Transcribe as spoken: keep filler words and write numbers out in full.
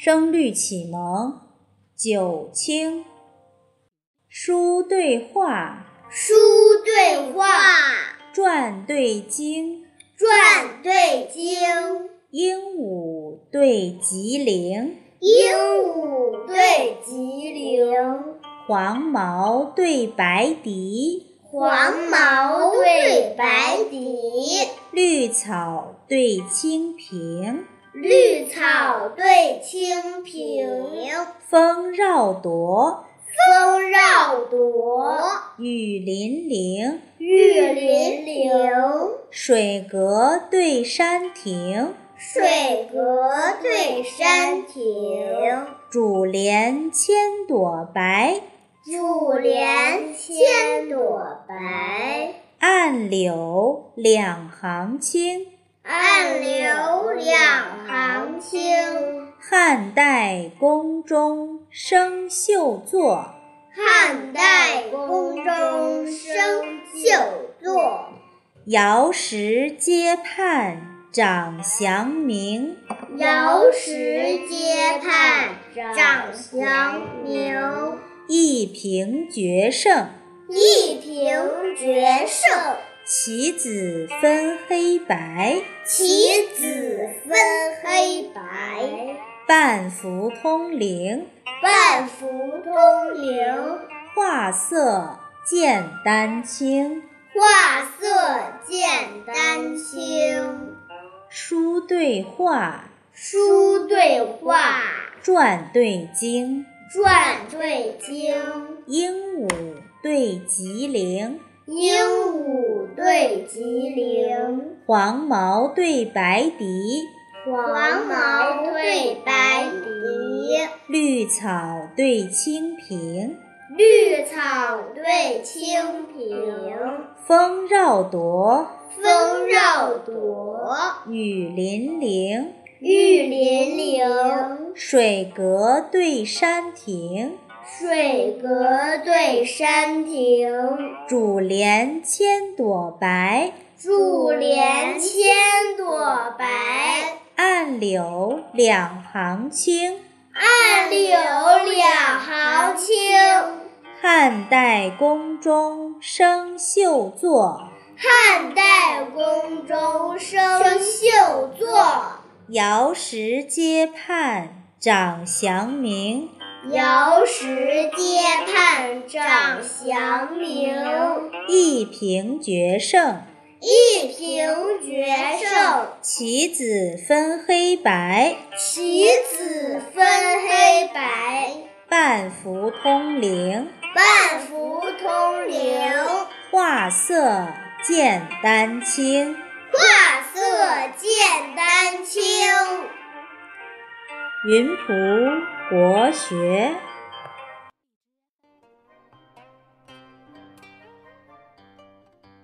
声律启蒙九清。书对话， 书对话， 传对经， 传对经， 鹦鹉对吉灵， 鹦鹉对吉灵， 黄毛对白笛， 黄毛对白笛， 绿草对青萍， 绿草对青萍， 风绕铎， 风绕铎， 雨霖铃， 雨霖铃， 水阁对山亭， 水阁对山亭， 珠帘千朵白， 珠帘千朵白， 暗柳两行青， 暗柳两行青， 汉代宫中生绣作， 汉代宫中生绣作， 瑶石阶畔长祥明， 瑶石阶畔长祥明， 一平决胜， 一平决胜， 棋子分黑白， 棋子分黑白， 半幅通灵， 半幅通灵， 画色见丹青， 画色见丹青， 书对话， 书对话， 传对经， 传对经， 鹦鹉对吉灵， 鹦鹉对吉灵， 黄毛对白笛， 黄毛对白笛， 绿草对青萍， 绿草对青萍， 风绕铎， 风绕铎， 雨霖铃， 雨霖铃， 水阁对山亭， 水阁对山亭， 珠帘千朵白， 珠帘千朵白， 暗柳两行青， 暗柳两行青， 汉代宫中生绣作， 汉代宫中生绣作， 瑶石阶畔长祥明， 瑶石阶畔长祥明， 一平决胜， 一平决胜， 棋子分黑白， 棋子分黑白， 半幅通灵， 半幅通灵， 画色见丹青， 画色见丹青。 云仆国学。